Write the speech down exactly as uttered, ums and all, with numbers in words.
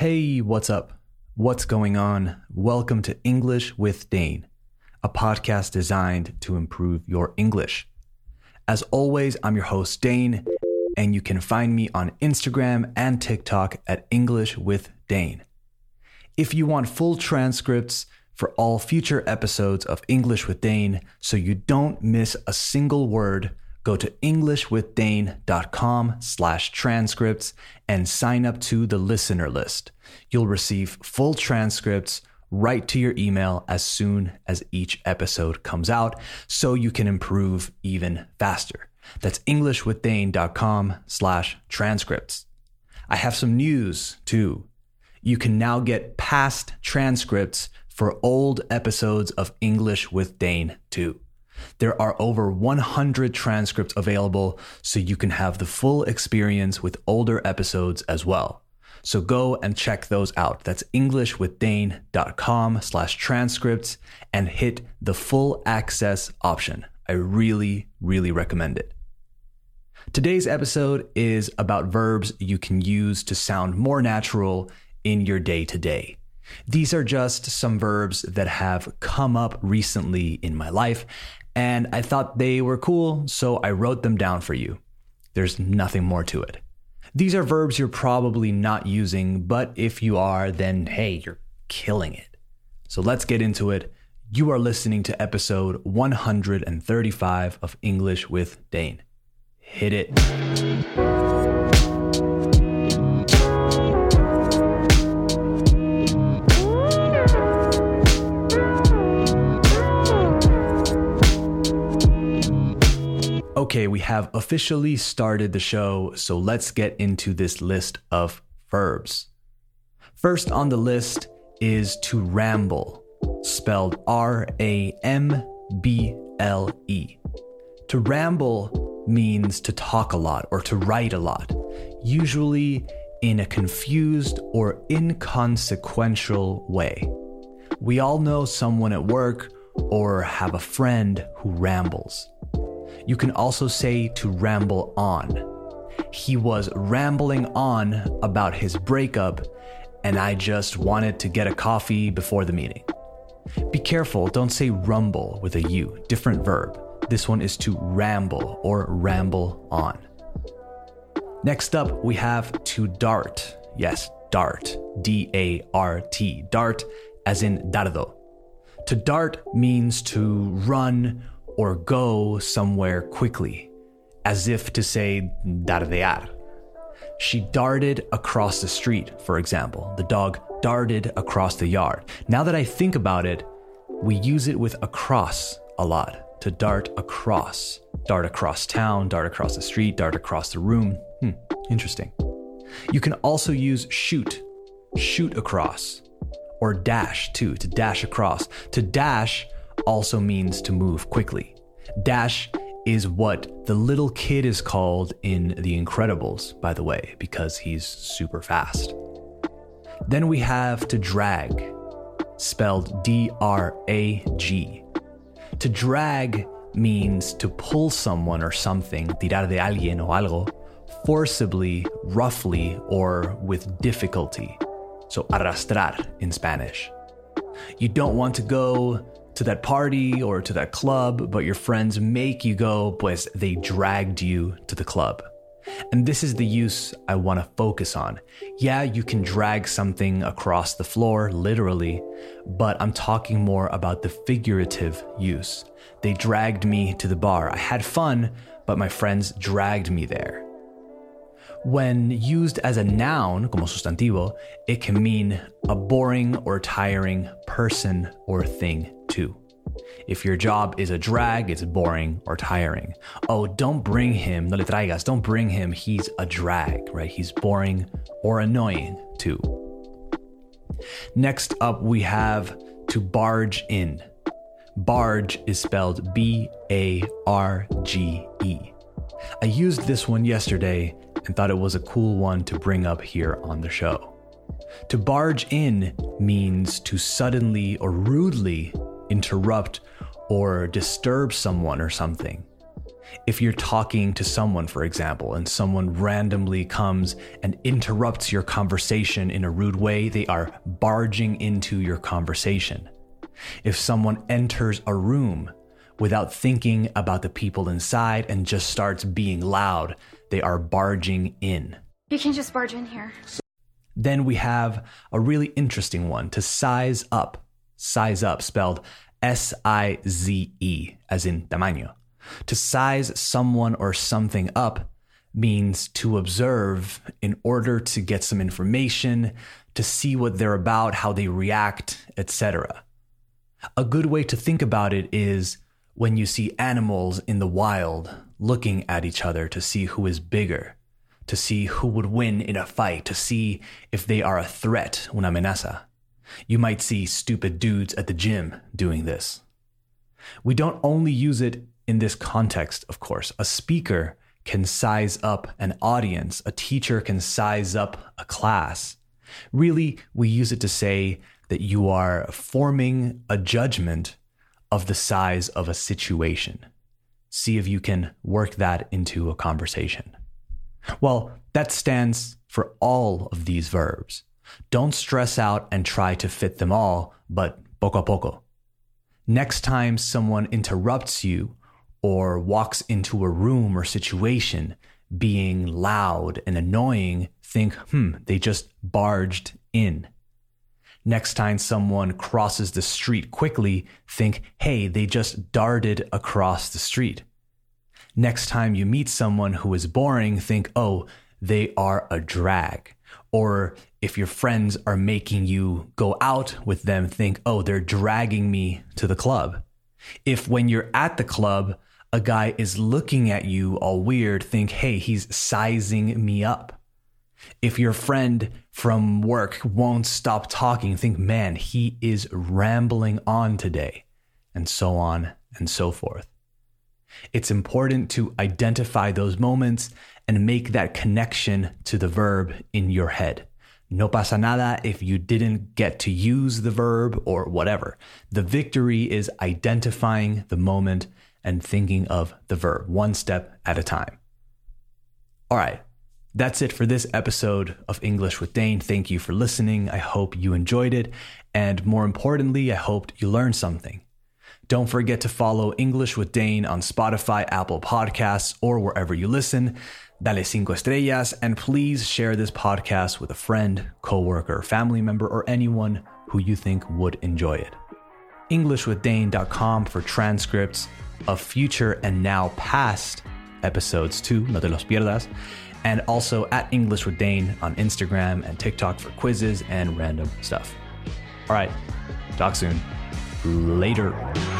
Hey, what's up? What's going on? Welcome to English with Dane, a podcast designed to improve your English. As always, I'm your host, Dane, and you can find me on Instagram and TikTok at English with Dane. If you want full transcripts for all future episodes of English with Dane so you don't miss a single word, go to englishwithdane.com slash transcripts and sign up to the listener list. You'll receive full transcripts right to your email as soon as each episode comes out so you can improve even faster. That's englishwithdane.com slash transcripts. I have some news too. You can now get past transcripts for old episodes of English with Dane too. There are over one hundred transcripts available so you can have the full experience with older episodes as well. So go and check those out. That's englishwithdane.com slash transcripts and hit the full access option. I really, really recommend it. Today's episode is about verbs you can use to sound more natural in your day-to-day. These are just some verbs that have come up recently in my life, and I thought they were cool, so I wrote them down for you. There's nothing more to it. These are verbs you're probably not using, but if you are, then hey, you're killing it. So let's get into it. You are listening to episode one hundred thirty-five of English with Dane. Hit it. Okay, we have officially started the show, so let's get into this list of verbs. First on the list is to ramble, spelled R A M B L E. To ramble means to talk a lot or to write a lot, usually in a confused or inconsequential way. We all know someone at work or have a friend who rambles. You can also say to ramble on. He was rambling on about his breakup, and I just wanted to get a coffee before the meeting. Be careful, don't say rumble with a U, different verb. This one is to ramble or ramble on. Next up, we have to dart. Yes, dart, D A R T, dart as in dardo. To dart means to run or go somewhere quickly, as if to say dardear. She darted across the street, for example. The dog darted across the yard. Now that I think about it, we use it with across a lot. To dart across. Dart across town, dart across the street, dart across the room. Hmm, interesting. You can also use shoot, shoot across. Or dash too, to dash across. To dash also means to move quickly. Dash is what the little kid is called in The Incredibles, by the way, because he's super fast. Then we have to drag, spelled D R A G. To drag means to pull someone or something, tirar de alguien o algo, forcibly, roughly, or with difficulty. So arrastrar in Spanish. You don't want to go to that party or to that club, but your friends make you go, pues they dragged you to the club. And this is the use I want to focus on. Yeah, you can drag something across the floor, literally, but I'm talking more about the figurative use. They dragged me to the bar. I had fun, but my friends dragged me there. When used as a noun, como sustantivo, it can mean a boring or tiring person or thing too. If your job is a drag, it's boring or tiring. Oh, don't bring him, no le traigas, don't bring him, he's a drag, right? He's boring or annoying too. Next up, we have to barge in. Barge is spelled B A R G E. I used this one yesterday and thought it was a cool one to bring up here on the show. To barge in means to suddenly or rudely interrupt or disturb someone or something. If you're talking to someone, for example, and someone randomly comes and interrupts your conversation in a rude way, they are barging into your conversation. If someone enters a room without thinking about the people inside and just starts being loud, they are barging in. You can't just barge in here. Then we have a really interesting one, to size up. Size up, spelled S I Z E, as in tamaño. To size someone or something up means to observe in order to get some information, to see what they're about, how they react, et cetera. A good way to think about it is when you see animals in the wild looking at each other to see who is bigger, to see who would win in a fight, to see if they are a threat, una amenaza. You might see stupid dudes at the gym doing this. We don't only use it in this context, of course. A speaker can size up an audience. A teacher can size up a class. Really, we use it to say that you are forming a judgment of the size of a situation. See if you can work that into a conversation. Well, that stands for all of these verbs. Don't stress out and try to fit them all, but poco a poco. Next time someone interrupts you or walks into a room or situation being loud and annoying, think, hmm, they just barged in. Next time someone crosses the street quickly, think, hey, they just darted across the street. Next time you meet someone who is boring, think, oh, they are a drag. Or if your friends are making you go out with them, think, oh, they're dragging me to the club. If when you're at the club, a guy is looking at you all weird, think, hey, he's sizing me up. If your friend from work won't stop talking, think, man, he is rambling on today, and so on and so forth. It's important to identify those moments and make that connection to the verb in your head. No pasa nada if you didn't get to use the verb or whatever. The victory is identifying the moment and thinking of the verb one step at a time. All right, that's it for this episode of English with Dane. Thank you for listening. I hope you enjoyed it. And more importantly, I hoped you learned something. Don't forget to follow English with Dane on Spotify, Apple Podcasts, or wherever you listen. Dale cinco estrellas, and please share this podcast with a friend, coworker, family member, or anyone who you think would enjoy it. english with dane dot com for transcripts of future and now past episodes too, no te los pierdas, and also at English with Dane on Instagram and TikTok for quizzes and random stuff. All right, talk soon. Later.